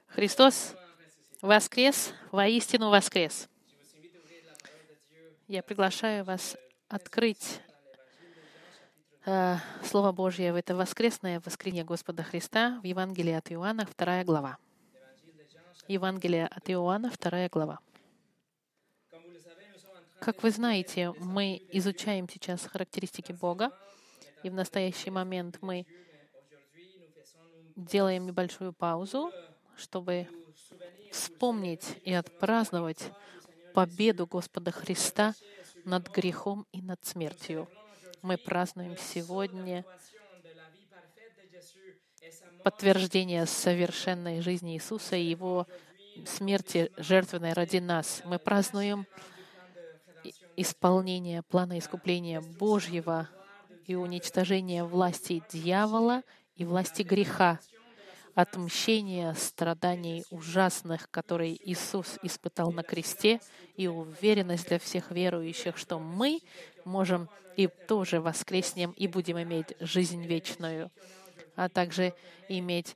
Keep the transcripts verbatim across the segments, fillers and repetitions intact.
Христос воскрес, воистину воскрес. Я приглашаю вас открыть э, Слово Божье в это воскресное воскресенье Господа Христа в Евангелии от Иоанна, вторая глава. Евангелие от Иоанна, вторая глава. Как вы знаете, мы изучаем сейчас характеристики Бога, и в настоящий момент мы делаем небольшую паузу, чтобы вспомнить и отпраздновать победу Господа Христа над грехом и над смертью. Мы празднуем сегодня подтверждение совершенной жизни Иисуса и Его смерти жертвенной ради нас. Мы празднуем исполнение плана искупления Божьего и уничтожение власти дьявола и власти греха, отмщение страданий ужасных, которые Иисус испытал на кресте, и уверенность для всех верующих, что мы можем и тоже воскреснем и будем иметь жизнь вечную, а также иметь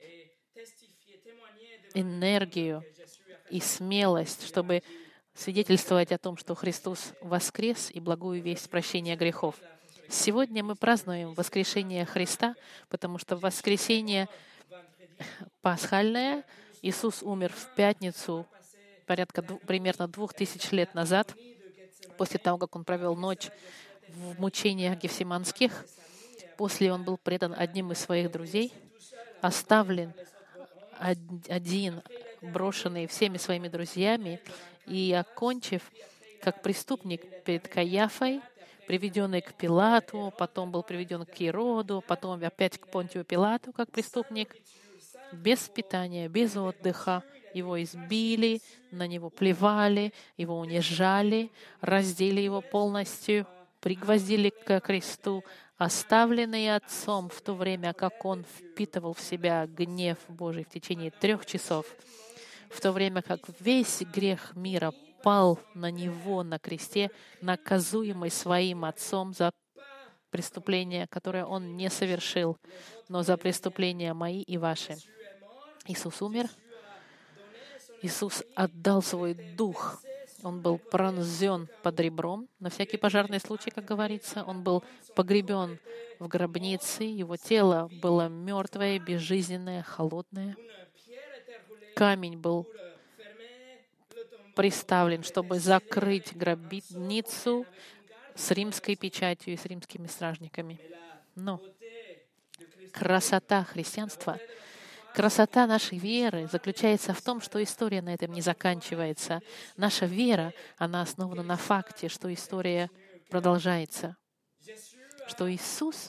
энергию и смелость, чтобы свидетельствовать о том, что Христос воскрес и благую весть прощения грехов. Сегодня мы празднуем воскрешение Христа, потому что воскресение пасхальное, Иисус умер в пятницу порядка примерно двух тысяч лет назад, после того, как Он провел ночь в мучениях гефсиманских. После Он был предан одним из своих друзей, оставлен один, брошенный всеми своими друзьями, и, окончив как преступник перед Каиафой, приведенный к Пилату, потом был приведен к Ироду, потом опять к Понтию Пилату как преступник, без питания, без отдыха. Его избили, на него плевали, его унижали, раздели его полностью, пригвоздили к кресту, оставленный Отцом в то время, как он впитывал в себя гнев Божий в течение трех часов, в то время как весь грех мира пал на него на кресте, наказуемый своим Отцом за преступления, которые он не совершил, но за преступления мои и ваши. Иисус умер, Иисус отдал свой дух, Он был пронзен под ребром, на всякий пожарный случай, как говорится, Он был погребен в гробнице, Его тело было мертвое, безжизненное, холодное. Камень был приставлен, чтобы закрыть гробницу с римской печатью и с римскими стражниками. Но красота христианства, красота нашей веры заключается в том, что история на этом не заканчивается. Наша вера, она основана на факте, что история продолжается, что Иисус,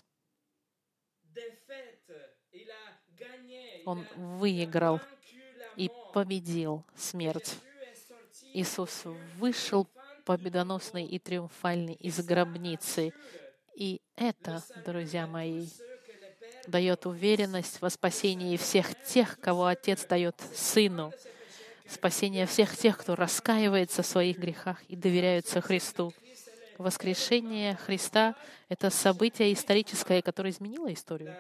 Он выиграл и победил смерть. Иисус вышел победоносный и триумфальный из гробницы. И это, друзья мои, дает уверенность во спасении всех тех, кого Отец дает Сыну. Спасение всех тех, кто раскаивается в своих грехах и доверяются Христу. Воскрешение Христа — это событие историческое, которое изменило историю.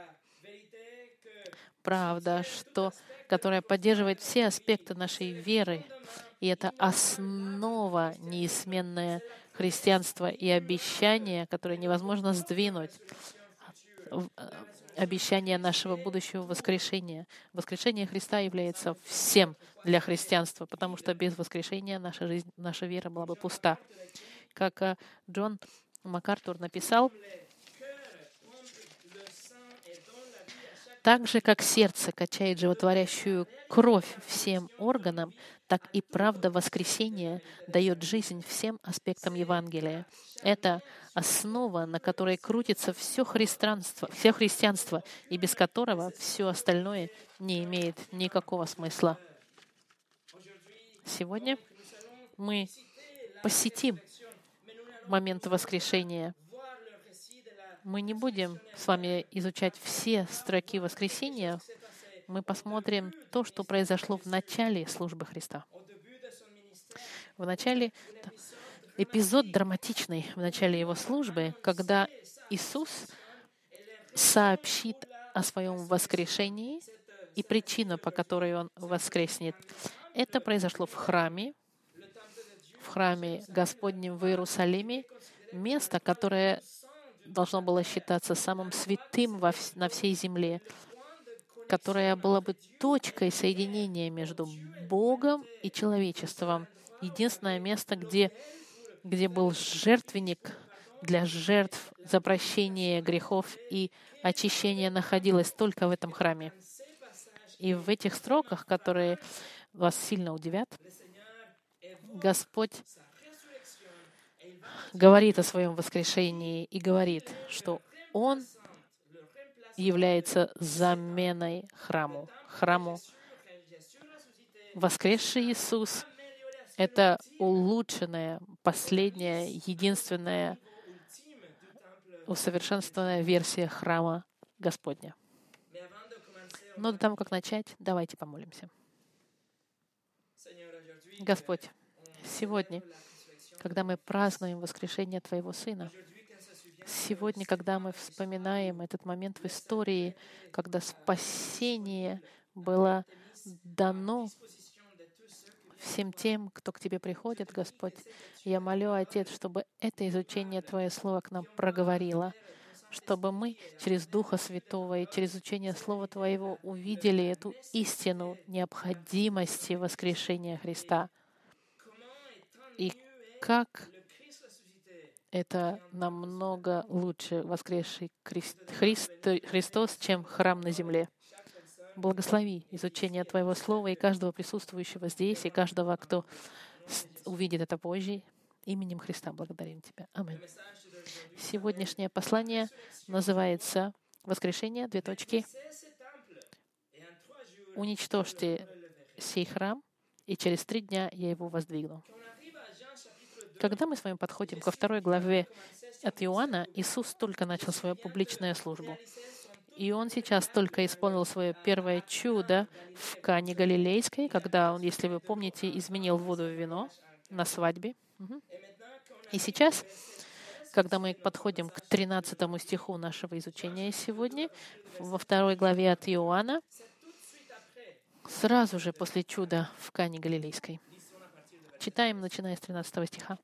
Правда, что, которая поддерживает все аспекты нашей веры. И это основа неизменное христианства и обещание, которое невозможно сдвинуть. Обещание нашего будущего воскрешения. Воскрешение Христа является всем для христианства, потому что без воскрешения наша жизнь, наша вера была бы пуста. Как Джон МакАртур написал, так же, как сердце качает животворящую кровь всем органам, так и правда воскресения дает жизнь всем аспектам Евангелия. Это основа, на которой крутится все христианство, все христианство, и без которого все остальное не имеет никакого смысла. Сегодня мы посетим момент воскрешения. Мы не будем с вами изучать все строки воскресения. Мы посмотрим то, что произошло в начале службы Христа. В начале, эпизод драматичный в начале Его службы, когда Иисус сообщит о Своем воскрешении и причина, по которой Он воскреснет. Это произошло в храме, в храме Господнем в Иерусалиме, место, которое должно было считаться самым святым во вс- на всей земле, которое было бы точкой соединения между Богом и человечеством. Единственное место, где, где был жертвенник для жертв за прощение грехов и очищение, находилось только в этом храме. И в этих строках, которые вас сильно удивят, Господь говорит о своем воскрешении и говорит, что Он является заменой храму. Храму. Воскресший Иисус — это улучшенная, последняя, единственная, усовершенствованная версия храма Господня. Но до того, как начать, давайте помолимся. Господь, сегодня, когда мы празднуем воскрешение Твоего Сына, сегодня, когда мы вспоминаем этот момент в истории, когда спасение было дано всем тем, кто к Тебе приходит, Господь, я молю, Отец, чтобы это изучение Твое Слово к нам проговорило, чтобы мы через Духа Святого и через учение Слова Твоего увидели эту истину необходимости воскрешения Христа. И как это намного лучше воскресший Христ, Христ, Христос, чем храм на земле. Благослови изучение Твоего Слова и каждого присутствующего здесь, и каждого, кто увидит это позже. Именем Христа благодарим Тебя. Аминь. Сегодняшнее послание называется «Воскрешение, две точки. Уничтожьте сей храм, и через три дня я его воздвигну». Когда мы с вами подходим ко второй главе от Иоанна, Иисус только начал свою публичную службу. И Он сейчас только исполнил свое первое чудо в Кане Галилейской, когда Он, если вы помните, изменил воду в вино на свадьбе. И сейчас, когда мы подходим к тринадцатому стиху нашего изучения сегодня, во второй главе от Иоанна, сразу же после чуда в Кане Галилейской. Читаем, начиная с тринадцатого стиха.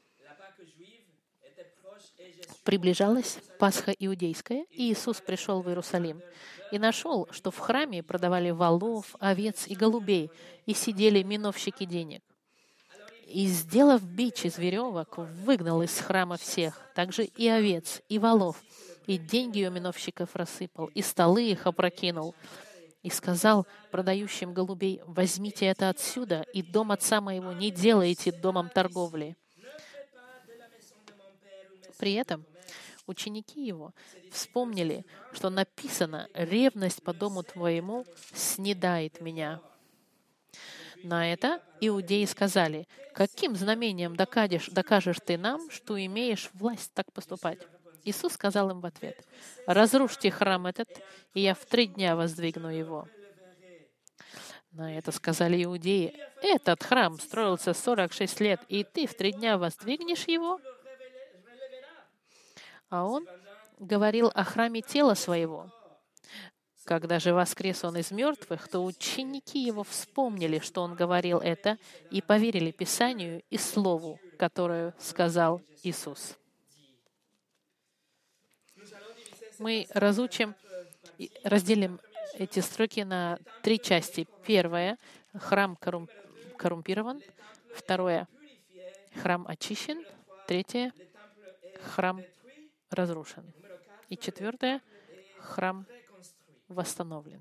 «Приближалась Пасха иудейская, и Иисус пришел в Иерусалим, и нашел, что в храме продавали волов, овец и голубей, и сидели миновщики денег. И, сделав бич из веревок, выгнал из храма всех, также и овец, и волов, и деньги у миновщиков рассыпал, и столы их опрокинул. И сказал продающим голубей: возьмите это отсюда, и дом отца моего не делайте домом торговли». При этом ученики его вспомнили, что написано: «Ревность по дому твоему снедает меня». На это иудеи сказали: «Каким знамением докажешь, докажешь ты нам, что имеешь власть так поступать?» Иисус сказал им в ответ: «Разрушьте храм этот, и я в три дня воздвигну его». На это сказали иудеи: «Этот храм строился сорок шесть лет, и ты в три дня воздвигнешь его?» А он говорил о храме тела своего. Когда же воскрес он из мертвых, то ученики его вспомнили, что он говорил это, и поверили Писанию и Слову, которое сказал Иисус. Мы разучим, разделим эти строки на три части. Первое — храм коррум, коррумпирован. Второе — храм очищен. Третье — храм разрушен. И четвертое — храм восстановлен.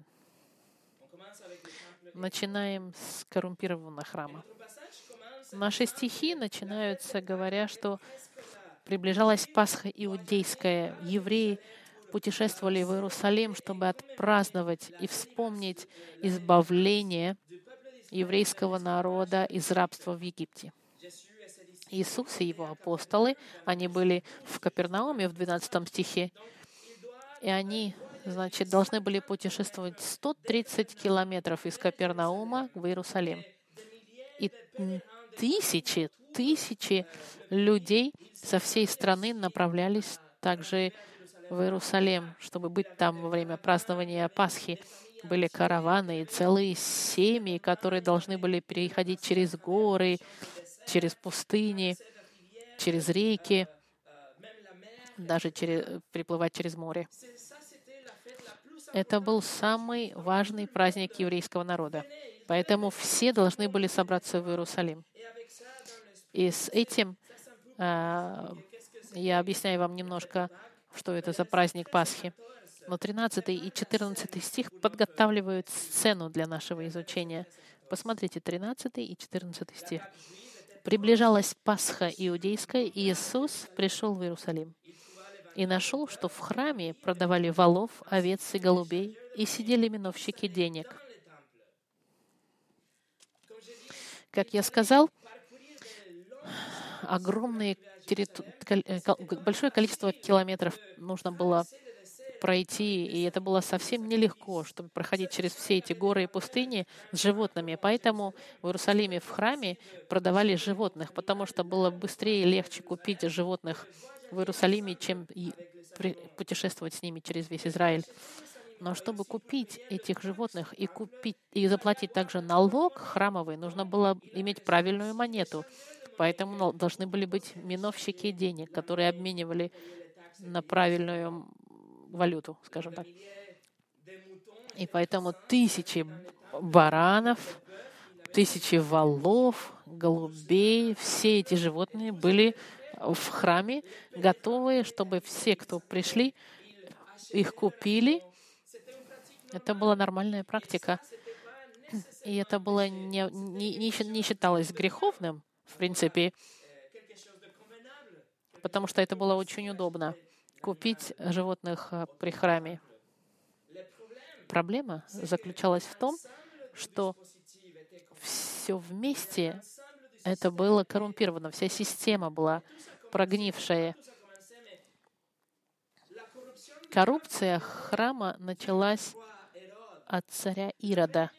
Начинаем с коррумпированного храма. Наши стихи начинаются, говоря, что приближалась Пасха иудейская. Евреи путешествовали в Иерусалим, чтобы отпраздновать и вспомнить избавление еврейского народа из рабства в Египте. Иисус и его апостолы, они были в Капернауме в двенадцатом стихе, и они, значит, должны были путешествовать сто тридцать километров из Капернаума в Иерусалим. И тысячи, тысячи людей со всей страны направлялись также в Иерусалим, чтобы быть там во время празднования Пасхи. были караваны и целые семьи, которые должны были переходить через горы, через пустыни, через реки, даже через, переплывать через море. Это был самый важный праздник еврейского народа. Поэтому все должны были собраться в Иерусалим. И с этим а, я объясняю вам немножко, что это за праздник Пасхи. Но тринадцатый и четырнадцатый стих подготавливают сцену для нашего изучения. Посмотрите, тринадцатый и четырнадцатый стих. «Приближалась Пасха иудейская, и Иисус пришел в Иерусалим. И нашел, что в храме продавали волов, овец и голубей, и сидели миновщики денег». Как я сказал, огромные территу... большое количество километров нужно было пройти, и это было совсем нелегко, чтобы проходить через все эти горы и пустыни с животными. Поэтому в Иерусалиме в храме продавали животных, потому что было быстрее и легче купить животных в Иерусалиме, чем и путешествовать с ними через весь Израиль. Но чтобы купить этих животных и купить и заплатить также налог храмовый, нужно было иметь правильную монету. Поэтому должны были быть миновщики денег, которые обменивали на правильную валюту, скажем так. И поэтому тысячи баранов, тысячи волов, голубей, все эти животные были в храме, готовые, чтобы все, кто пришли, их купили. Это была нормальная практика. И это было не, не, не считалось греховным, в принципе, потому что это было очень удобно купить животных при храме. Проблема заключалась в том, что все вместе это было коррумпировано, вся система была прогнившая. Коррупция храма началась от царя Ирода.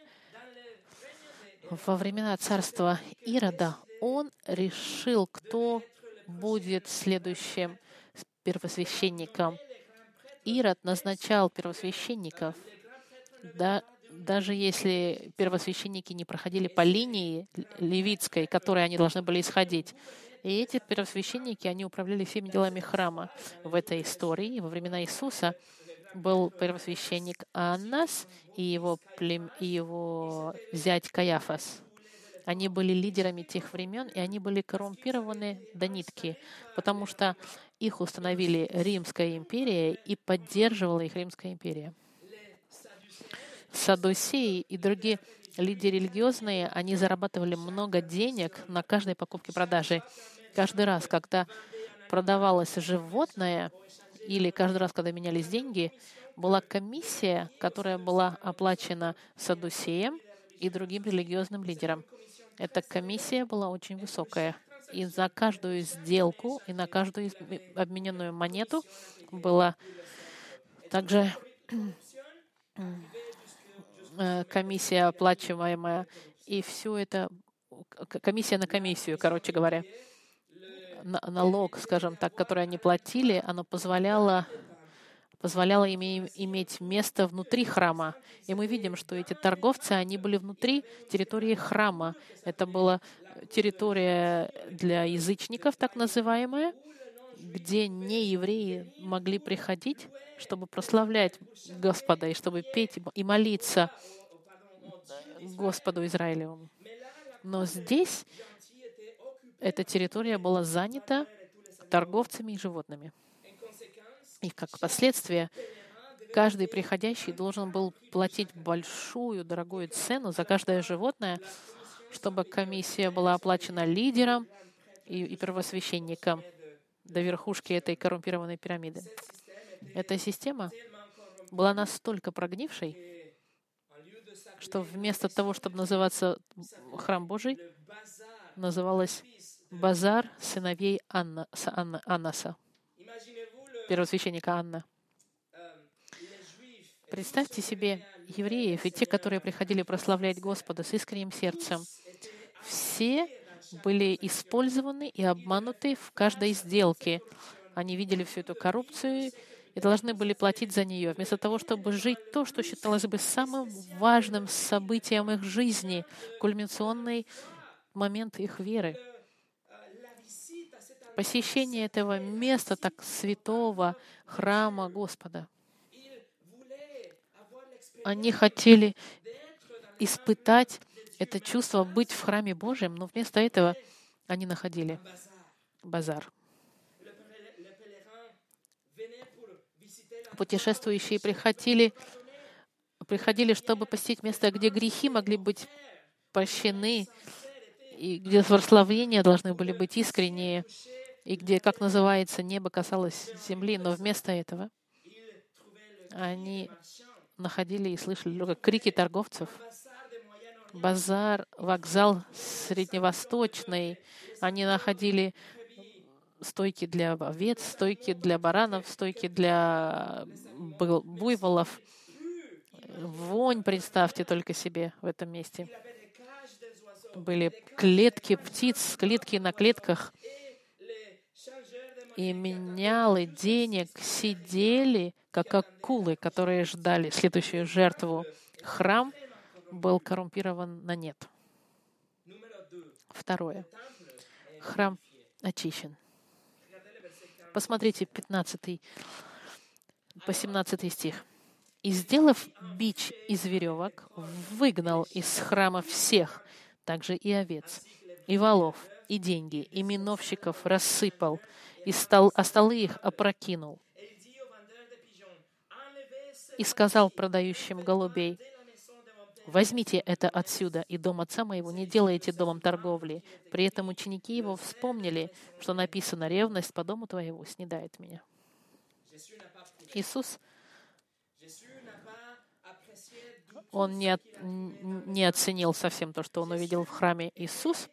Во времена царства Ирода он решил, кто будет следующим первосвященником. Ирод назначал первосвященников, да, даже если первосвященники не проходили по линии левитской, которой они должны были исходить. И эти первосвященники, они управляли всеми делами храма. В этой истории, во времена Иисуса, был первосвященник Аннас и его, плем... и его зять Каяфас. Они были лидерами тех времен, и они были коррумпированы до нитки, потому что их установили Римская империя, и поддерживала их Римская империя. Саддусеи и другие лидеры религиозные, они зарабатывали много денег на каждой покупке-продаже. Каждый раз, когда продавалось животное, или каждый раз, когда менялись деньги, была комиссия, которая была оплачена саддусеям и другим религиозным лидерам. Эта комиссия была очень высокая. И за каждую сделку, и на каждую обмененную монету была также комиссия оплачиваемая, и все это, комиссия на комиссию, короче говоря. Налог, скажем так, который они платили, оно позволяло, позволяло им иметь место внутри храма. И мы видим, что эти торговцы, они были внутри территории храма. Это была территория для язычников, так называемая, где неевреи могли приходить, чтобы прославлять Господа, и чтобы петь и молиться Господу Израилевому. Но здесь эта территория была занята торговцами и животными. И как последствие, каждый приходящий должен был платить большую, дорогую цену за каждое животное, чтобы комиссия была оплачена лидером и, и первосвященником до верхушки этой коррумпированной пирамиды. Эта система была настолько прогнившей, что вместо того, чтобы называться Храм Божий, называлась Базар сыновей Анна, Анна, Аннаса, первосвященника Анна. Представьте себе евреев и те, которые приходили прославлять Господа с искренним сердцем. Все были использованы и обмануты в каждой сделке. Они видели всю эту коррупцию, и должны были платить за нее, вместо того, чтобы жить то, что считалось бы самым важным событием их жизни, кульминационный момент их веры. Посещение этого места, так святого храма Господа. Они хотели испытать это чувство быть в храме Божьем, но вместо этого они находили базар. Путешествующие приходили, приходили, чтобы посетить место, где грехи могли быть прощены, и где прославления должны были быть искренние, и где, как называется, небо касалось земли, но вместо этого они находили и слышали только крики торговцев. Базар, вокзал средневосточный. Они находили стойки для овец, стойки для баранов, стойки для буйволов. Вонь, представьте только себе в этом месте. Были клетки птиц, клетки на клетках. И менялы денег сидели, как акулы, которые ждали следующую жертву. Храм был коррумпирован на нет. Второе. Храм очищен. Посмотрите, пятнадцатый по семнадцатый стих. «И, сделав бич из веревок, выгнал из храма всех, также и овец, и волов, и деньги, и миновщиков рассыпал, и стол, а столы их опрокинул. И сказал продающим голубей: возьмите это отсюда, и дом отца моего не делайте домом торговли». При этом ученики его вспомнили, что написано: «Ревность по дому твоему снедает меня». Иисус, Он не, от, не оценил совсем то, что Он увидел в храме. Иисус,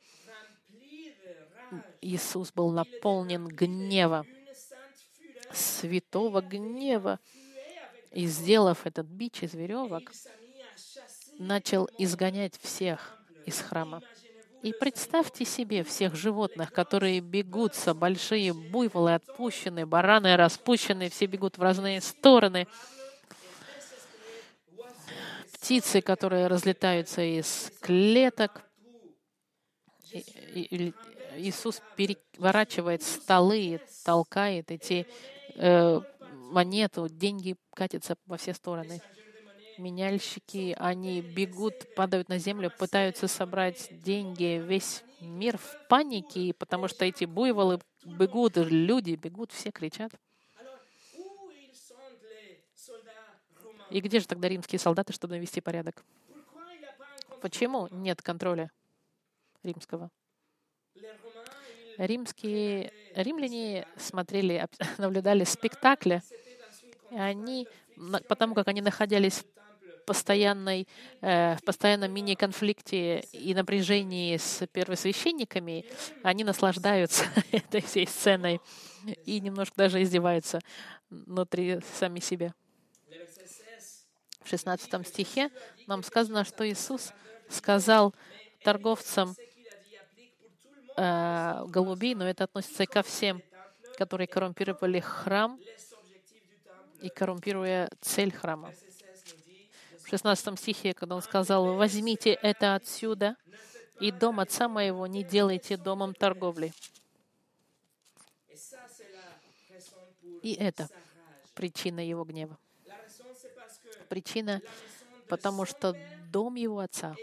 Иисус был наполнен гнева, святого гнева, и, сделав этот бич из веревок, начал изгонять всех из храма. И представьте себе всех животных, которые бегутся, большие буйволы отпущены, бараны распущены, все бегут в разные стороны. Птицы, которые разлетаются из клеток. И, и, и Иисус переворачивает столы, толкает эти э, монеты, деньги катятся во все стороны. Меняльщики, они бегут, падают на землю, пытаются собрать деньги. Весь мир в панике, потому что эти буйволы бегут, люди бегут, все кричат. И где же тогда римские солдаты, чтобы навести порядок? Почему нет контроля римского? Римские, римляне смотрели, наблюдали спектакли, и они, потому как они находились в, постоянной, э, в постоянном мини-конфликте и напряжении с первосвященниками, они наслаждаются этой всей сценой и немножко даже издеваются внутри сами себя. В шестнадцатом стихе нам сказано, что Иисус сказал торговцам э, голубей, но это относится и ко всем, которые коррумпировали храм и коррумпируя цель храма. В шестнадцатом стихе, когда он сказал: «Возьмите это отсюда, и дом отца моего не делайте домом торговли». И это причина его гнева. Причина, потому что дом его отца,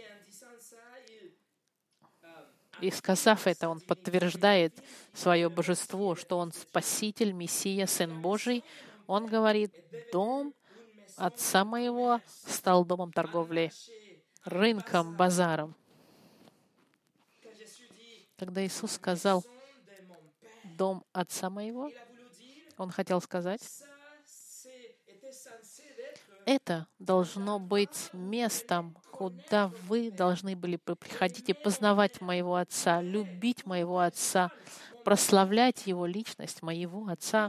и сказав это, он подтверждает свое божество, что он Спаситель, Мессия, Сын Божий. Он говорит: дом отца моего стал домом торговли, рынком, базаром. Когда Иисус сказал «дом отца моего», Он хотел сказать, это должно быть местом, куда вы должны были приходить и познавать моего Отца, любить моего Отца, прославлять Его личность, моего Отца.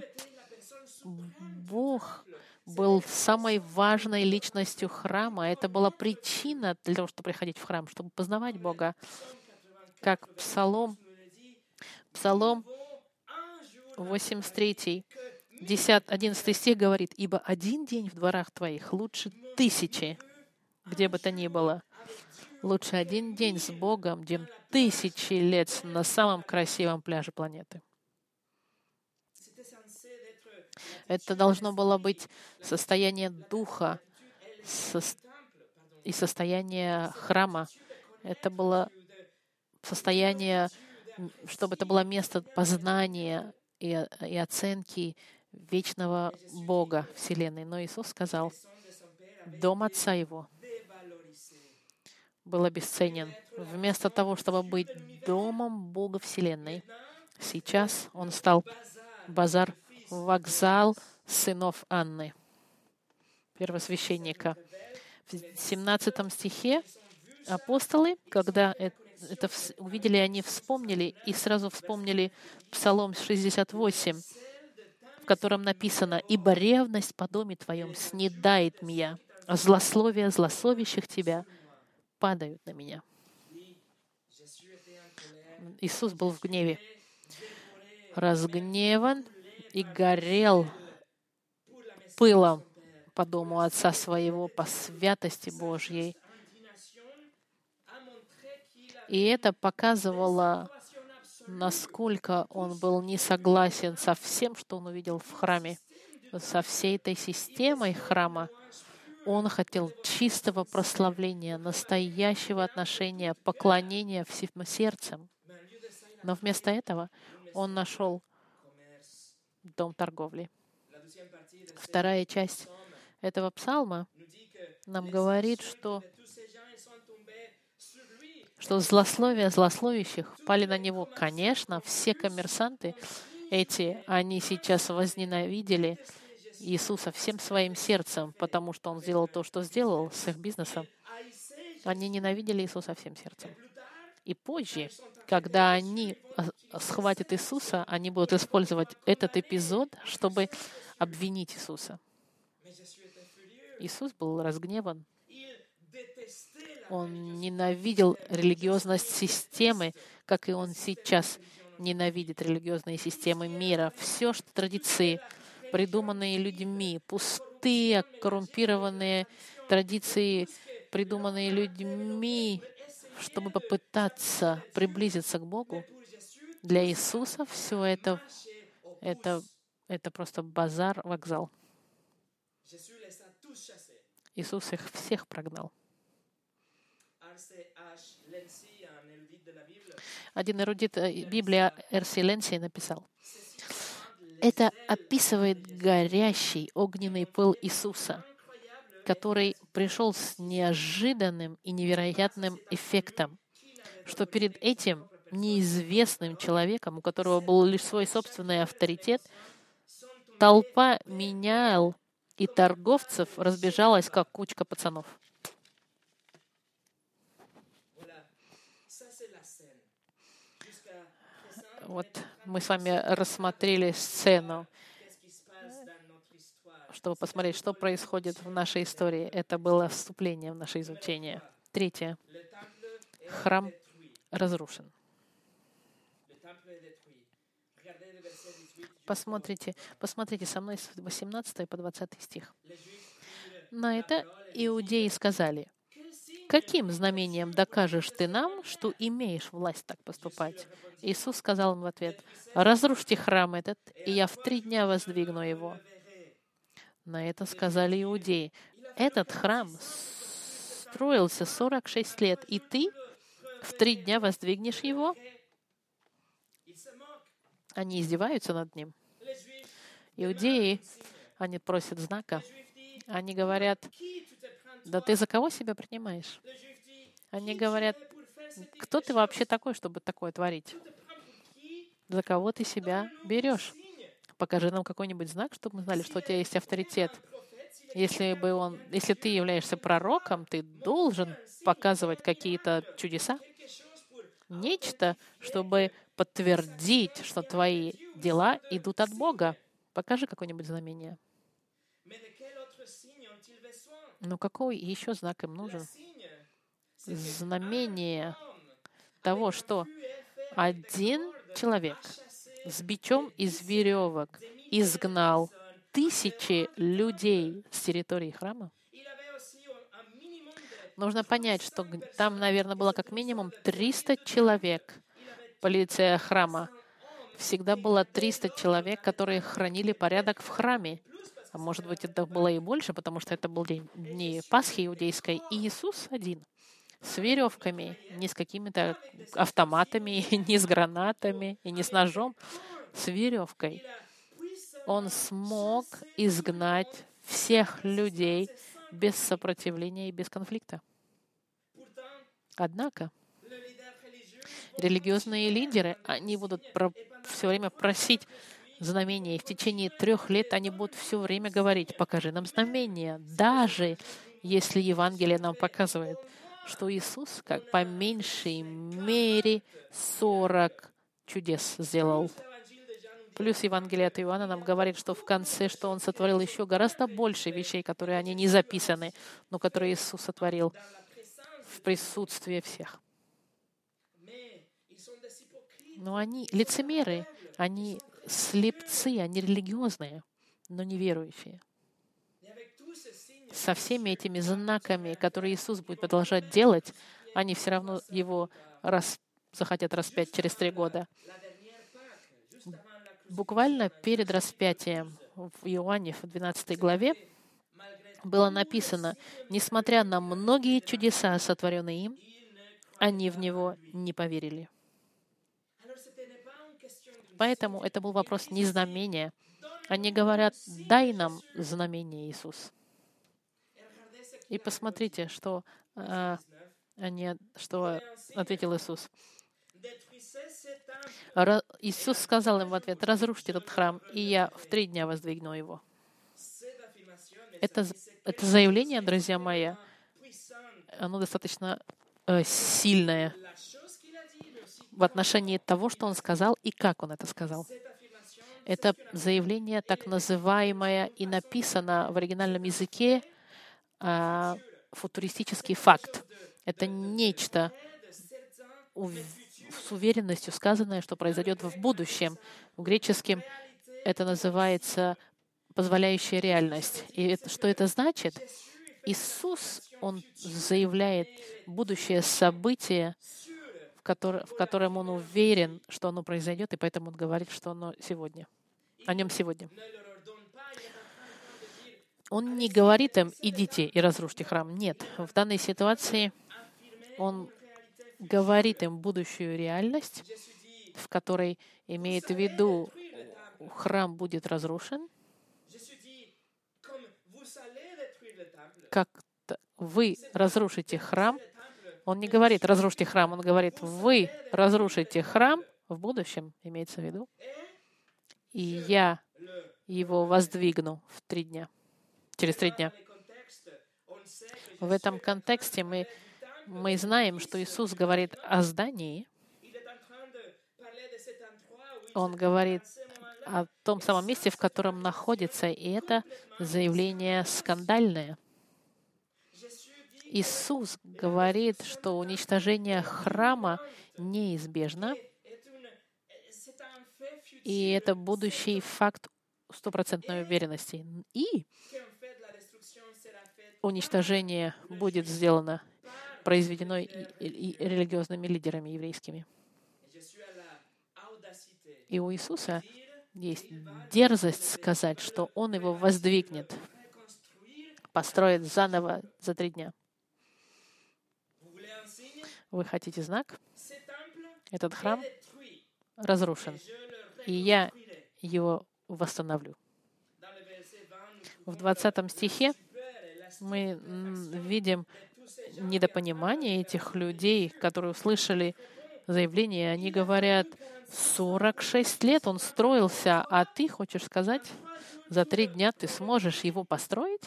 Бог был самой важной личностью храма. Это была причина для того, чтобы приходить в храм, чтобы познавать Бога. Как Псалом, Псалом восемьдесят три. десятый, одиннадцатый стих говорит: «Ибо один день в дворах твоих лучше тысячи, где бы то ни было. Лучше один день с Богом, чем тысячи лет на самом красивом пляже планеты». Это должно было быть состояние духа и состояние храма. Это было состояние, чтобы это было место познания и, и оценки вечного Бога Вселенной. Но Иисус сказал: дом Отца Его был обесценен. Вместо того, чтобы быть домом Бога Вселенной, сейчас он стал базар, вокзал сынов Анны, первосвященника. В семнадцатом стихе апостолы, когда это увидели, они вспомнили и сразу вспомнили Псалом шестьдесят восемь, в котором написано: «Ибо ревность по доме Твоем снедает меня, а злословие злословящих Тебя падают на меня». Иисус был в гневе, разгневан и горел пылом по дому Отца Своего, по святости Божьей. И это показывало, насколько он был не согласен со всем, что он увидел в храме, со всей этой системой храма. Он хотел чистого прославления, настоящего отношения, поклонения всем сердцем. Но вместо этого он нашел дом торговли. Вторая часть этого псалма нам говорит, что, что злословия злословящих пали на него. Конечно, все коммерсанты эти, они сейчас возненавидели Иисуса всем своим сердцем, потому что Он сделал то, что сделал с их бизнесом. Они ненавидели Иисуса всем сердцем. И позже, когда они схватят Иисуса, они будут использовать этот эпизод, чтобы обвинить Иисуса. Иисус был разгневан. Он ненавидел религиозность системы, как и Он сейчас ненавидит религиозные системы мира. Все, что традиции, придуманные людьми, пустые, коррумпированные традиции, придуманные людьми, чтобы попытаться приблизиться к Богу, для Иисуса все это, это, это просто базар, вокзал. Иисус их всех прогнал. Один эрудит Библии, Эр Си Ленси, написал: это описывает горящий огненный пыл Иисуса, который пришел с неожиданным и невероятным эффектом, что перед этим неизвестным человеком, у которого был лишь свой собственный авторитет, толпа менял и торговцев разбежалась, как кучка пацанов. Вот мы с вами рассмотрели сцену, чтобы посмотреть, что происходит в нашей истории. Это было вступление в наше изучение. Третье. Храм разрушен. Посмотрите, посмотрите со мной с восемнадцатого по двадцатый стих. На это иудеи сказали: «Каким знамением докажешь ты нам, что имеешь власть так поступать?» Иисус сказал им в ответ: «Разрушьте храм этот, и я в три дня воздвигну его». На это сказали иудеи: «Этот храм строился сорок шесть лет, и ты в три дня воздвигнешь его?» Они издеваются над ним. Иудеи, они просят знака. Они говорят: «Да ты за кого себя принимаешь?» Они говорят: «Кто ты вообще такой, чтобы такое творить? За кого ты себя берешь? Покажи нам какой-нибудь знак, чтобы мы знали, что у тебя есть авторитет. Если бы он, если ты являешься пророком, ты должен показывать какие-то чудеса, нечто, чтобы подтвердить, что твои дела идут от Бога. Покажи какое-нибудь знамение». Но какой еще знак им нужен? Знамение того, что один человек с бичом из веревок изгнал тысячи людей с территории храма. Нужно понять, что там, наверное, было как минимум триста человек. Полиция храма. Всегда было триста человек, которые хранили порядок в храме. А может быть, это было и больше, потому что это был день дни Пасхи иудейской. И Иисус один. С веревками, не с какими-то автоматами, не с гранатами и не с ножом. С веревкой. Он смог изгнать всех людей без сопротивления и без конфликта. Однако религиозные лидеры, они будут про, все время просить знамения. И в течение трех лет они будут все время говорить: покажи нам знамения. Даже если Евангелие нам показывает, что Иисус, как по меньшей мере, сорок чудес сделал. Плюс Евангелие от Иоанна нам говорит, что в конце, что Он сотворил еще гораздо больше вещей, которые они не записаны, но которые Иисус сотворил в присутствии всех. Но они лицемеры, они слепцы, они религиозные, но неверующие. Со всеми этими знаками, которые Иисус будет продолжать делать, они все равно Его рас... захотят распять через три года. Буквально перед распятием в Иоанне, в двенадцатой главе, было написано: «Несмотря на многие чудеса, сотворенные им, они в Него не поверили». Поэтому это был вопрос не знамения. Они говорят: «Дай нам знамение, Иисус». И посмотрите, что, а, они, что ответил Иисус. Иисус сказал им в ответ: «Разрушьте этот храм, и я в три дня воздвигну его». Это, это заявление, друзья мои, оно достаточно э, сильное в отношении того, что Он сказал и как Он это сказал. Это заявление так называемое и написано в оригинальном языке э, футуристический факт. Это нечто с уверенностью сказанное, что произойдет в будущем. В греческом это называется позволяющая реальность. И это, что это значит? Иисус, Он заявляет будущее событие, в, которое, в котором Он уверен, что оно произойдет, и поэтому Он говорит, что оно сегодня, о нем сегодня. Он не говорит им: идите и разрушьте храм. Нет. В данной ситуации Он говорит им будущую реальность, в которой имеет в виду, храм будет разрушен, как вы разрушите храм. Он не говорит: разрушьте храм, он говорит: вы разрушите храм в будущем, имеется в виду, и я его воздвигну в три дня, через три дня. В этом контексте мы Мы знаем, что Иисус говорит о здании. Он говорит о том самом месте, в котором находится, и это заявление скандальное. Иисус говорит, что уничтожение храма неизбежно, и это будущий факт стопроцентной уверенности. И уничтожение будет сделано, произведено и, и, и религиозными лидерами еврейскими. И у Иисуса есть дерзость сказать, что Он его воздвигнет, построит заново за три дня. Вы хотите знак? Этот храм разрушен, и я его восстановлю. В двадцатом стихе мы видим недопонимание этих людей, которые услышали заявление. Они говорят: сорок шесть лет он строился, а ты хочешь сказать, за три дня ты сможешь его построить?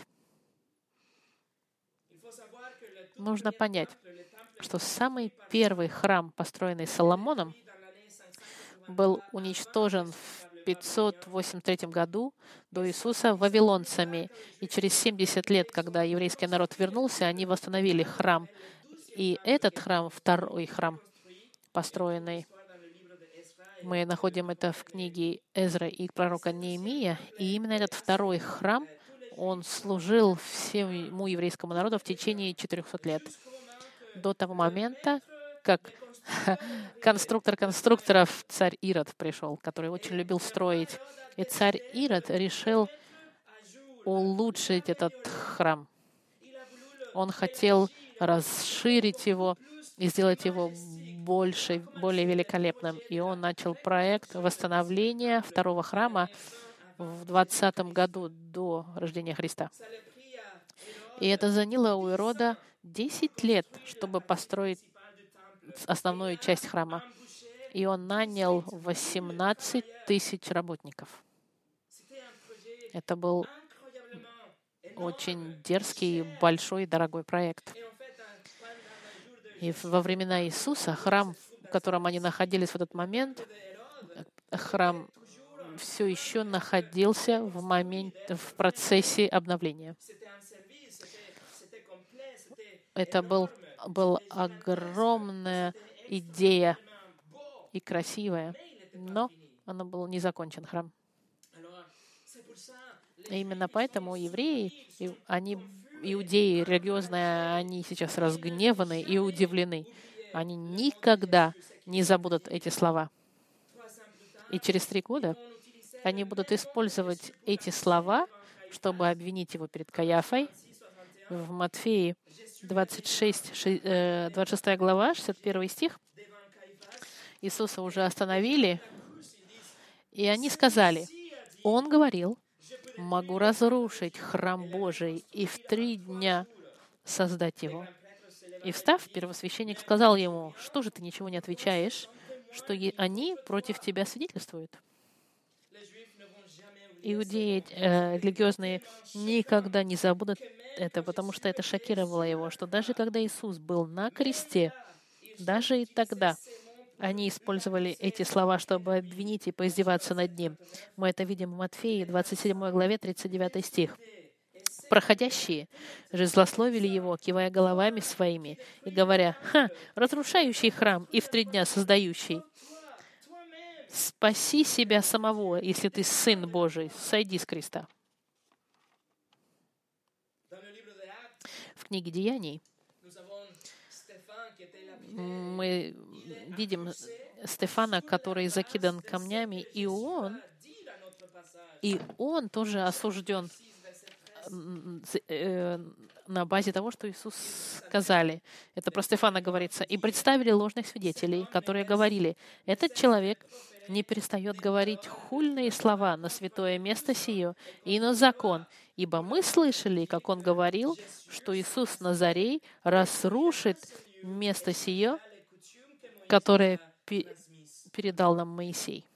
Нужно понять, что самый первый храм, построенный Соломоном, был уничтожен в пятьсот восемьдесят третьем году до Иисуса вавилонцами. И через семьдесят лет, когда еврейский народ вернулся, они восстановили храм. И этот храм, второй храм, построенный Мы находим это в книге Эзра и пророка Неемия. И именно этот второй храм, он служил всему еврейскому народу в течение четырехсот лет. До того момента, как конструктор конструкторов, царь Ирод, пришел, который очень любил строить. И царь Ирод решил улучшить этот храм. Он хотел расширить его и сделать его больше, более великолепным. И он начал проект восстановления второго храма в двадцатом году до рождения Христа. И это заняло у Ирода десять лет, чтобы построить основную часть храма. И он нанял восемнадцать тысяч работников. Это был очень дерзкий, большой и дорогой проект. И во времена Иисуса храм, в котором они находились в этот момент, храм все еще находился в, момент, в процессе обновления. Это был, была огромная идея и красивая, но она был не закончен, храм. И именно поэтому евреи, они, иудеи религиозные, они сейчас разгневаны и удивлены. Они никогда не забудут эти слова. И через три года они будут использовать эти слова, чтобы обвинить его перед Каяфой. В Матфеи двадцать шесть, двадцать шестая глава, шестьдесят первый стих. Иисуса уже остановили, и они сказали, Он говорил, могу разрушить храм Божий и в три дня создать его. И встав, первосвященник сказал ему, что же ты ничего не отвечаешь, что они против тебя свидетельствуют? Иудеи э, религиозные никогда не забудут это, потому что это шокировало его, что даже когда Иисус был на кресте, даже и тогда они использовали эти слова, чтобы обвинить и поиздеваться над ним. Мы это видим в Матфеи, двадцать седьмой главе, тридцать девятый стих. «Проходящие же злословили его, кивая головами своими и говоря, «Ха, разрушающий храм и в три дня создающий, спаси себя самого, если ты Сын Божий, сойди с креста». В книге Деяний мы видим Стефана, который закидан камнями, и он, и он тоже осужден на базе того, что Иисус сказали. Это про Стефана говорится. «И представили ложных свидетелей, которые говорили, этот человек не перестает говорить хульные слова на святое место сие и на закон, ибо мы слышали, как он говорил, что Иисус Назарей разрушит место сие, которое передал нам Моисей».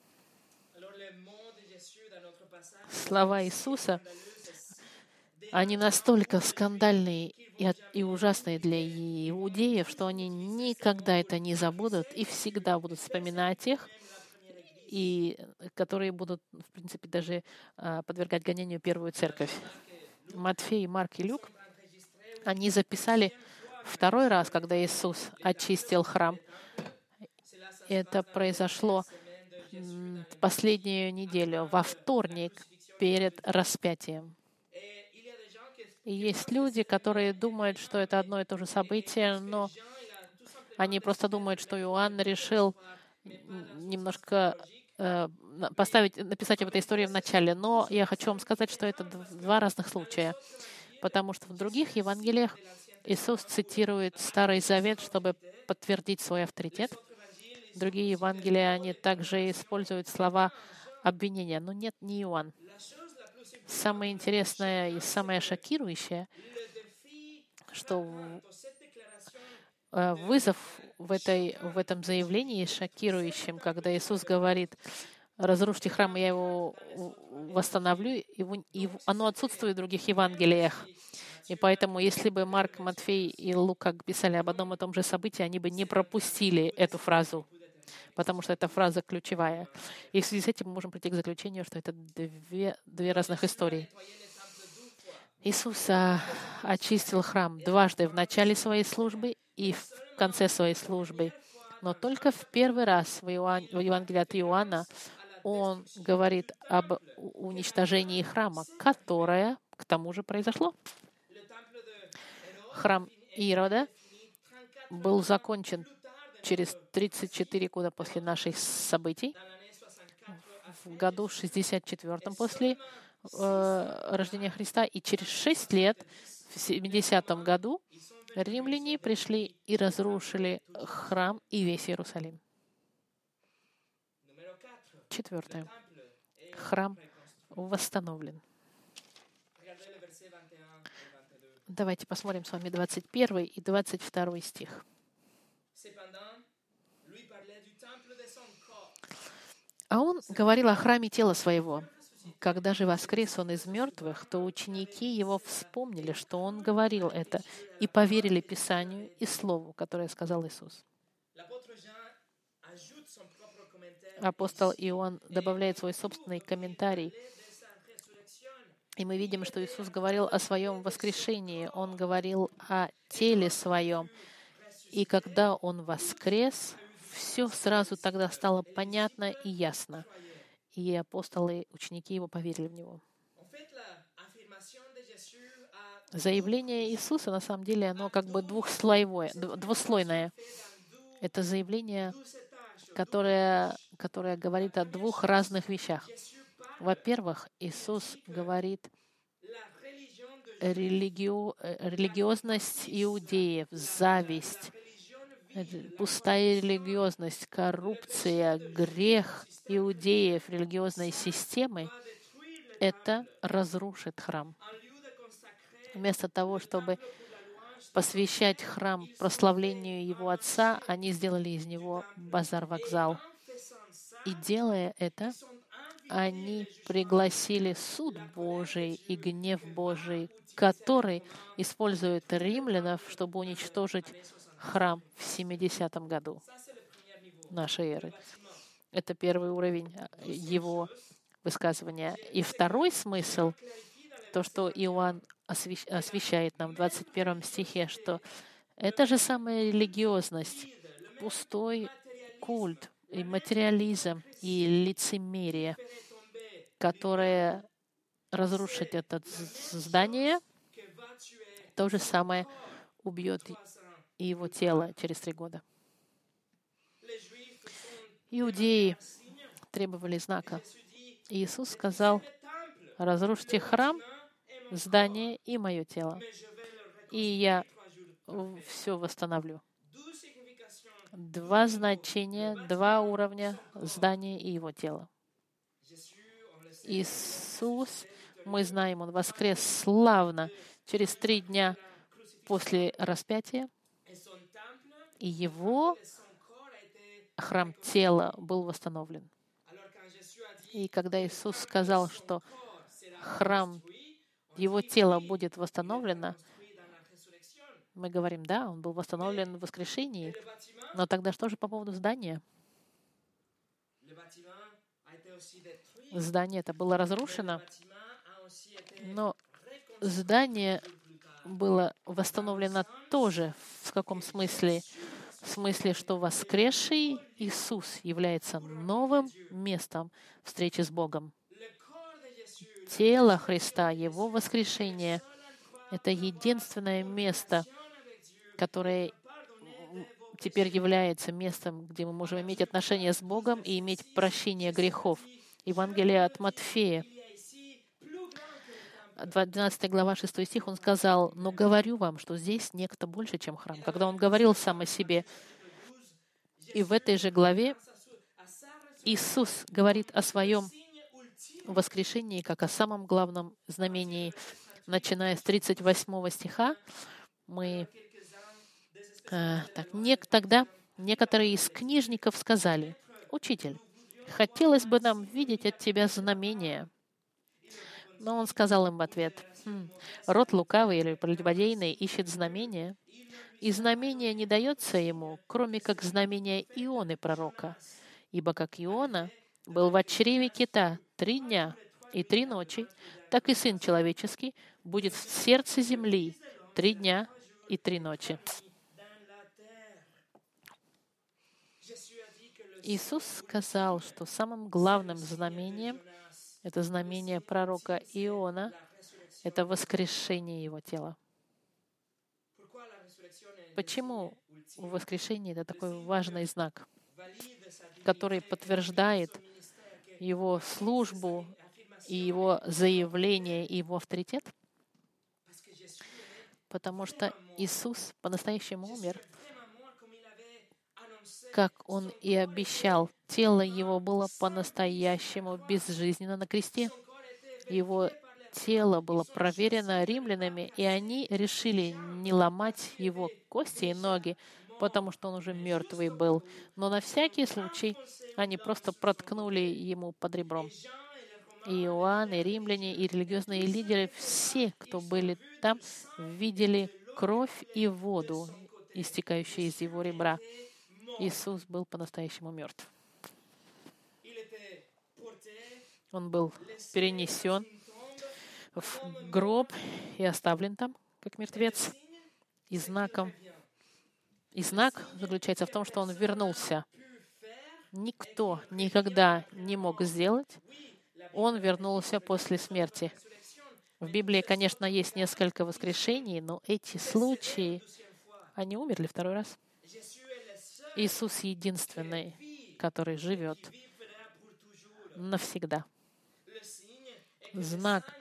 Слова Иисуса, они настолько скандальные и, и ужасные для иудеев, что они никогда это не забудут и всегда будут вспоминать их, и которые будут, в принципе, даже а, подвергать гонению первую церковь. Матфей, Марк и Люк, они записали второй раз, когда Иисус очистил храм. Это произошло в последнюю неделю, во вторник, перед распятием. И есть люди, которые думают, что это одно и то же событие, но они просто думают, что Иоанн решил немножко э, поставить, написать об этой истории в начале. Но я хочу вам сказать, что это два разных случая, потому что в других Евангелиях Иисус цитирует Старый Завет, чтобы подтвердить свой авторитет. Другие Евангелия, они также используют слова обвинения, но нет, не Иоанн. Самое интересное и самое шокирующее, что вызов в, этой, в этом заявлении шокирующим, когда Иисус говорит, разрушьте храм, я его восстановлю, и, и оно отсутствует в других Евангелиях. И поэтому, если бы Марк, Матфей и Лука писали об одном и том же событии, они бы не пропустили эту фразу, потому что эта фраза ключевая. И в связи с этим мы можем прийти к заключению, что это две, две разных истории. Иисус а, очистил храм дважды в начале своей службы и в конце своей службы. Но только в первый раз в, Иоанн, в Евангелии от Иоанна он говорит об уничтожении храма, которое, к тому же, произошло. Храм Ирода был закончен через тридцать четыре года после наших событий, в году шестьдесят четвёртом после э, рождения Христа, и через шесть лет, в семидесятом году, римляне пришли и разрушили храм и весь Иерусалим. Четвертое. Храм восстановлен. Давайте посмотрим с вами двадцать первый и двадцать второй стих. А он говорил о храме тела своего. Когда же воскрес он из мертвых, то ученики его вспомнили, что он говорил это, и поверили Писанию и Слову, которое сказал Иисус. Апостол Иоанн добавляет свой собственный комментарий. И мы видим, что Иисус говорил о своем воскрешении. Он говорил о теле своем. И когда Он воскрес, все сразу тогда стало понятно и ясно. И апостолы, ученики Его поверили в Него. Заявление Иисуса, на самом деле, оно как бы двухслойное, двуслойное. Это заявление, которое, которое говорит о двух разных вещах. Во-первых, Иисус говорит религио, религиозность иудеев, зависть, пустая религиозность, коррупция, грех иудеев, религиозной системы — это разрушит храм. Вместо того, чтобы посвящать храм прославлению его Отца, они сделали из него базар-вокзал. И делая это, они пригласили суд Божий и гнев Божий, который использует римлянов, чтобы уничтожить храм в семидесятом году нашей эры. Это первый уровень его высказывания. И второй смысл, то, что Иоанн освещает нам в двадцать первом стихе, что это же самая религиозность, пустой культ, и материализм, и лицемерие, которое разрушит это здание, то же самое убьет и его тело через три года. Иудеи требовали знака. Иисус сказал: разрушьте храм, здание и мое тело, и я все восстановлю. Два значения, два уровня здания и его тела. Иисус, мы знаем, Он воскрес славно через три дня после распятия, и Его храм тела был восстановлен. И когда Иисус сказал, что храм Его тела будет восстановлено, мы говорим, да, он был восстановлен в воскрешении. Но тогда что же по поводу здания? Здание это было разрушено, но здание было восстановлено тоже. В каком смысле? В смысле, что воскресший Иисус является новым местом встречи с Богом. Тело Христа, Его воскрешение — это единственное место, которое теперь является местом, где мы можем иметь отношения с Богом и иметь прощение грехов. Евангелие от Матфея, двенадцатая глава, шестой стих, он сказал: «Но говорю вам, что здесь некто больше, чем храм». Когда он говорил сам о себе. И в этой же главе Иисус говорит о своем воскрешении как о самом главном знамении. Начиная с тридцать восьмого стиха, мы... Э, так, не, тогда некоторые из книжников сказали: «Учитель, хотелось бы нам видеть от Тебя знамения». Но Он сказал им в ответ: хм, «Род лукавый или прелюбодейный ищет знамения, и знамение не дается ему, кроме как знамения Ионы пророка. Ибо как Иона был в чреве кита три дня и три ночи, так и Сын Человеческий будет в сердце земли три дня и три ночи». Иисус сказал, что самым главным знамением, это знамение пророка Иона, это воскрешение его тела. Почему воскрешение — это такой важный знак, который подтверждает его службу и его заявление, и его авторитет? Потому что Иисус по-настоящему умер, как Он и обещал. Тело Его было по-настоящему безжизненно на кресте. Его тело было проверено римлянами, и они решили не ломать Его кости и ноги, потому что Он уже мертвый был. Но на всякий случай они просто проткнули Ему под ребром. И Иоанн, и римляне, и религиозные лидеры, все, кто были там, видели кровь и воду, истекающие из Его ребра. Иисус был по-настоящему мертв. Он был перенесен в гроб и оставлен там, как мертвец. И знаком, и знак заключается в том, что Он вернулся. Никто никогда не мог сделать. Он вернулся после смерти. В Библии, конечно, есть несколько воскрешений, но эти случаи, они умерли второй раз. Иисус единственный, который живет навсегда. Знак,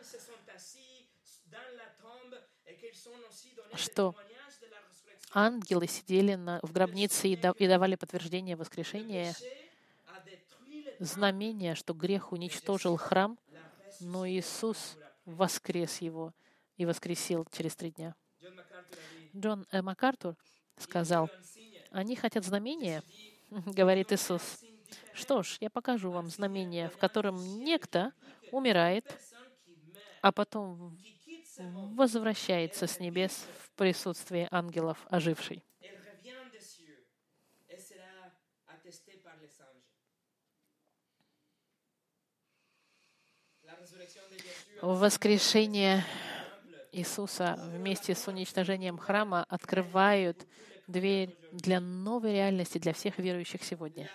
что ангелы сидели на, в гробнице и, да, и давали подтверждение воскрешения, знамение, что грех уничтожил храм, но Иисус воскрес его и воскресил через три дня. Джон э, МакАртур сказал: «Они хотят знамения», — говорит Иисус. «Что ж, я покажу вам знамение, в котором некто умирает, а потом возвращается с небес в присутствии ангелов оживший». Воскрешение Иисуса вместе с уничтожением храма открывают дверь для новой реальности для всех верующих сегодня.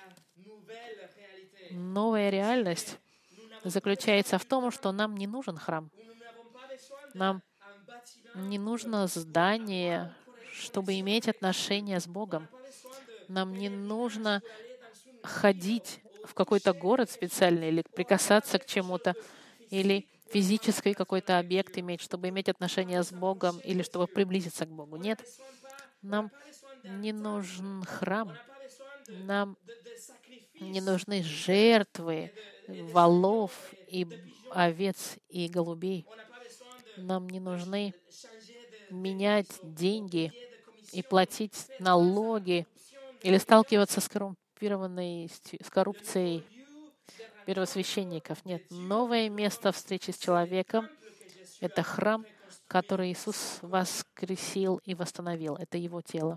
Новая реальность заключается в том, что нам не нужен храм. Нам не нужно здание, чтобы иметь отношения с Богом. Нам не нужно ходить в какой-то город специальный или прикасаться к чему-то, или физический какой-то объект иметь, чтобы иметь отношения с Богом или чтобы приблизиться к Богу. Нет, нам не нужен храм. Нам не нужны жертвы волов и овец и голубей. Нам не нужны менять деньги и платить налоги или сталкиваться с коррумпированной, с коррупцией первосвященников. Нет, новое место встречи с человеком — это храм, который Иисус воскресил и восстановил. Это Его тело.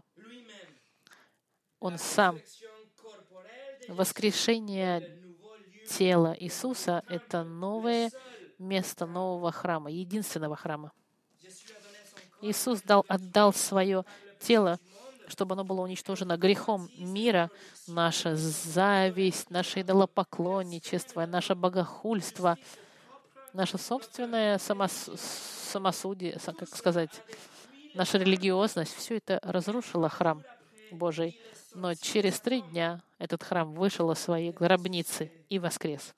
Он сам. Воскрешение тела Иисуса — это новое место нового храма, единственного храма. Иисус дал, отдал свое тело, чтобы оно было уничтожено грехом мира, наша зависть, наше идолопоклонничество, наше богохульство, наше собственное самос... самосудие, как сказать, наша религиозность. Все это разрушило храм Божий. Но через три дня этот храм вышел из своей гробницы и воскрес.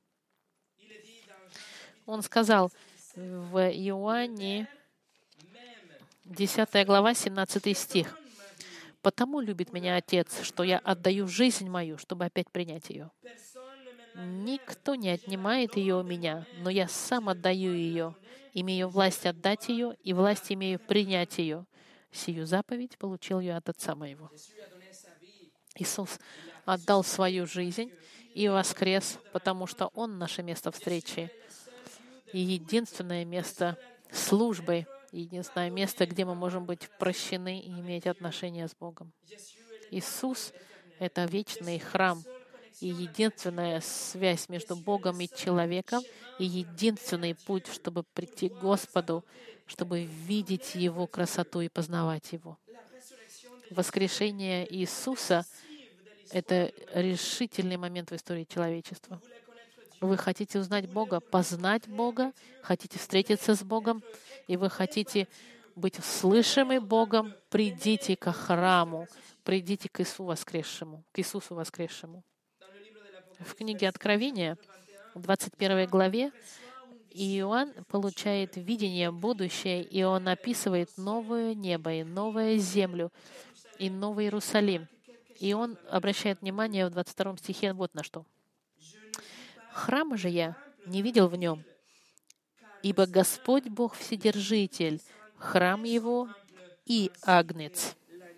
Он сказал в Иоанне, десятая глава, семнадцатый стих: «Потому любит меня Отец, что я отдаю жизнь мою, чтобы опять принять ее. Никто не отнимает ее у меня, но я сам отдаю ее, имею власть отдать ее, и власть имею принять ее. Сию заповедь получил я от Отца моего». Иисус отдал свою жизнь и воскрес, потому что Он наше место встречи и единственное место службы, единственное место, где мы можем быть прощены и иметь отношения с Богом. Иисус — это вечный храм и единственная связь между Богом и человеком, и единственный путь, чтобы прийти к Господу, чтобы видеть Его красоту и познавать Его. Воскрешение Иисуса Это решительный момент в истории человечества. Вы хотите узнать Бога, познать Бога, хотите встретиться с Богом, и вы хотите быть слышимы Богом, придите к храму, придите к Иисусу воскресшему, к Иисусу воскресшему. В книге Откровения, в двадцать первой главе, Иоанн получает видение будущее, и он описывает новое небо, и новую землю, и Новый Иерусалим. И он обращает внимание в двадцать втором стихе вот на что. «Храма же я не видел в нем, ибо Господь Бог Вседержитель, храм Его и Агнец».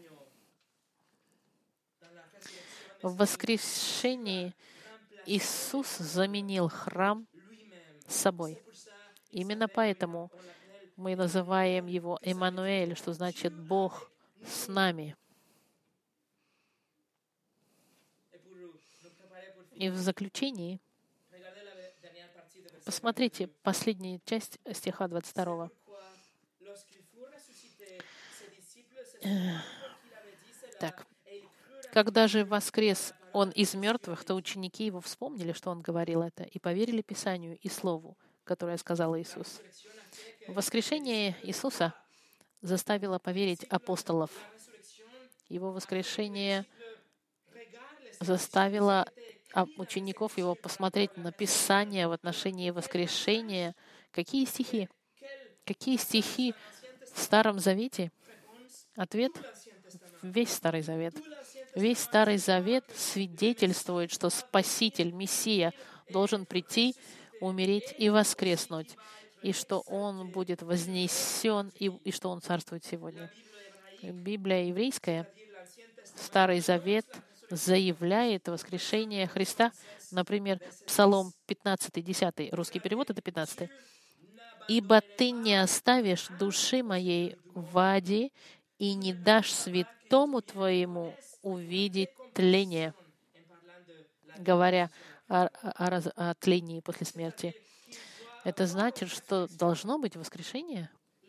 В воскрешении Иисус заменил храм собой. Именно поэтому мы называем Его Эммануэль, что значит «Бог с нами». И в заключении посмотрите последнюю часть стиха двадцать второго. Так. «Когда же воскрес Он из мертвых, то ученики Его вспомнили, что Он говорил это, и поверили Писанию и Слову, которое сказал Иисус». Воскрешение Иисуса заставило поверить апостолов. Его воскрешение заставило учеников Его посмотреть на Писание в отношении воскрешения. Какие стихи? Какие стихи в Старом Завете? Ответ — весь Старый Завет. Весь Старый Завет свидетельствует, что Спаситель, Мессия, должен прийти, умереть и воскреснуть, и что Он будет вознесен, и, и что Он царствует сегодня. Библия еврейская, Старый Завет, заявляет воскрешение Христа. Например, Псалом пятнадцатый, десятый, русский перевод — это пятнадцатый. «Ибо Ты не оставишь души моей в аде и не дашь святому Твоему увидеть тление», говоря о, о, раз- о тлении после смерти. Это значит, что должно быть воскрешение.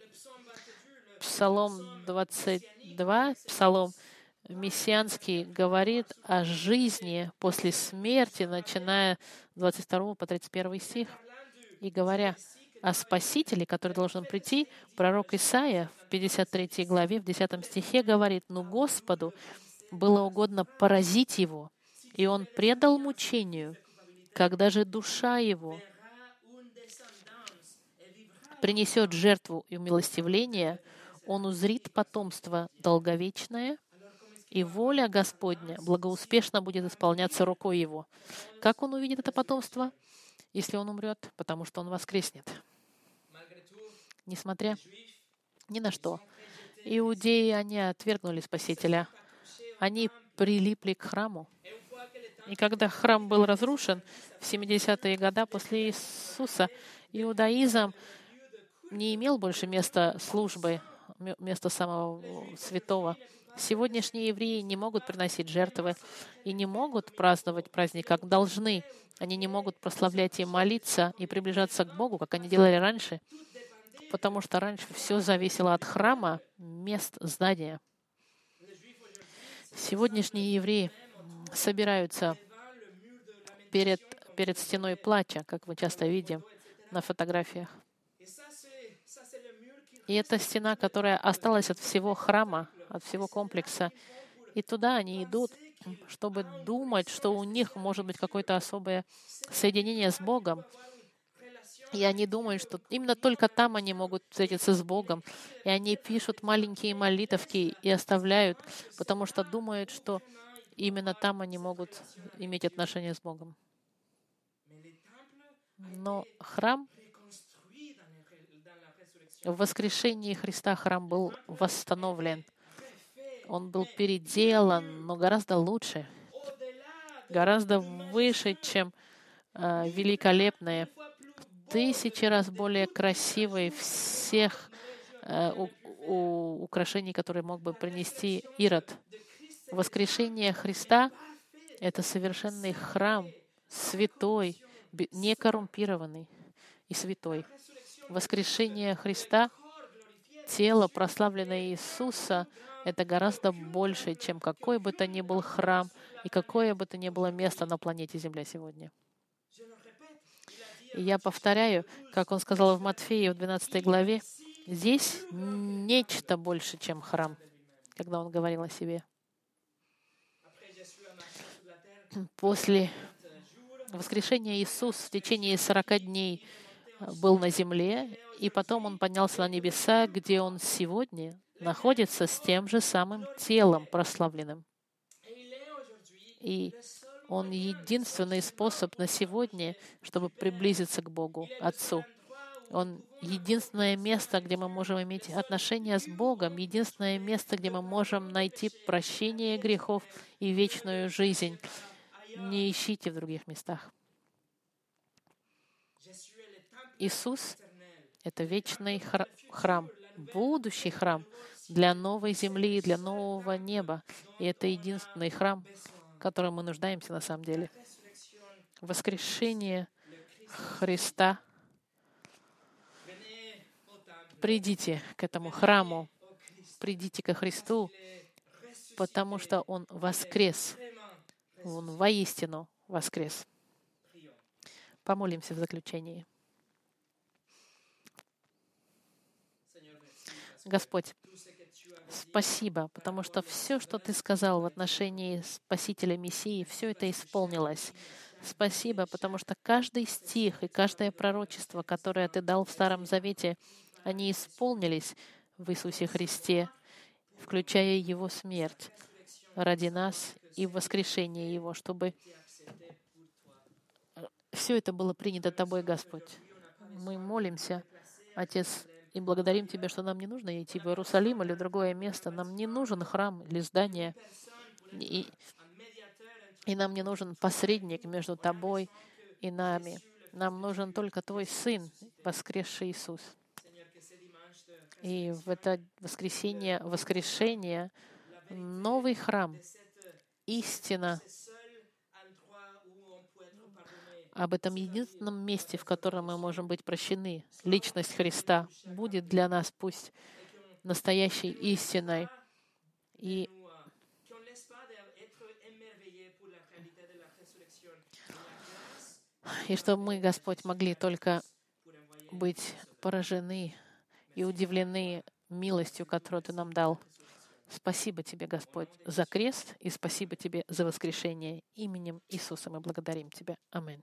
Псалом двадцать два, Псалом мессианский, говорит о жизни после смерти, начиная с двадцать второго по тридцать первый стих. И говоря о Спасителе, который должен прийти, пророк Исаия в пятьдесят третьей главе, в десятом стихе говорит: «Но Господу было угодно поразить его, и он предал мучению, когда же душа его принесет жертву и умилостивление, он узрит потомство долговечное, и воля Господня благоуспешно будет исполняться рукой его». Как он увидит это потомство, если он умрет? Потому что он воскреснет. Несмотря ни на что, иудеи, они отвергнули Спасителя. Они прилипли к храму. И когда храм был разрушен в семидесятые годы после Иисуса, иудаизм не имел больше места службы, места самого святого. Сегодняшние евреи не могут приносить жертвы и не могут праздновать праздник, как должны. Они не могут прославлять и молиться, и приближаться к Богу, как они делали раньше, потому что раньше все зависело от храма, мест, здания. Сегодняшние евреи собираются перед, перед стеной плача, как мы часто видим на фотографиях. И это стена, которая осталась от всего храма, от всего комплекса. И туда они идут, чтобы думать, что у них может быть какое-то особое соединение с Богом. И они думают, что именно только там они могут встретиться с Богом. И они пишут маленькие молитовки и оставляют, потому что думают, что именно там они могут иметь отношение с Богом. Но храм, в воскрешении Христа храм был восстановлен. Он был переделан, но гораздо лучше, гораздо выше, чем э, великолепные, тысячи раз более красивые всех э, у, у, украшений, которые мог бы принести Ирод. Воскрешение Христа — это совершенный храм, святой, некоррумпированный и святой. Воскрешение Христа тело, прославленное Иисуса, это гораздо больше, чем какой бы то ни был храм и какое бы то ни было место на планете Земля сегодня. И я повторяю, как он сказал в Матфея в двенадцатой главе, здесь нечто больше, чем храм, когда он говорил о себе. После воскрешения Иисус в течение сорока дней был на земле, и потом он поднялся на небеса, где он сегодня находится с тем же самым телом прославленным. И он единственный способ на сегодня, чтобы приблизиться к Богу, Отцу. Он единственное место, где мы можем иметь отношения с Богом, единственное место, где мы можем найти прощение грехов и вечную жизнь. Не ищите в других местах. Иисус — это вечный хра- храм, будущий храм для новой земли, для нового неба. И это единственный храм, в котором мы нуждаемся на самом деле. Воскрешение Христа. Придите к этому храму, придите ко Христу, потому что Он воскрес. Он воистину воскрес. Помолимся в заключении. Господь, спасибо, потому что все, что Ты сказал в отношении Спасителя Мессии, все это исполнилось. Спасибо, потому что каждый стих и каждое пророчество, которое Ты дал в Старом Завете, они исполнились в Иисусе Христе, включая Его смерть ради нас и воскрешение Его, чтобы все это было принято Тобой, Господь. Мы молимся, Отец, и благодарим Тебя, что нам не нужно идти в Иерусалим или в другое место. Нам не нужен храм или здание. И, и нам не нужен посредник между Тобой и нами. Нам нужен только Твой Сын, воскресший Иисус. И в это воскресенье, воскрешение, новый храм, истина об этом единственном месте, в котором мы можем быть прощены, личность Христа, будет для нас пусть настоящей истиной. И, и чтобы мы, Господь, могли только быть поражены и удивлены милостью, которую Ты нам дал. Спасибо Тебе, Господь, за крест, и спасибо Тебе за воскрешение. Именем Иисуса мы благодарим Тебя. Аминь.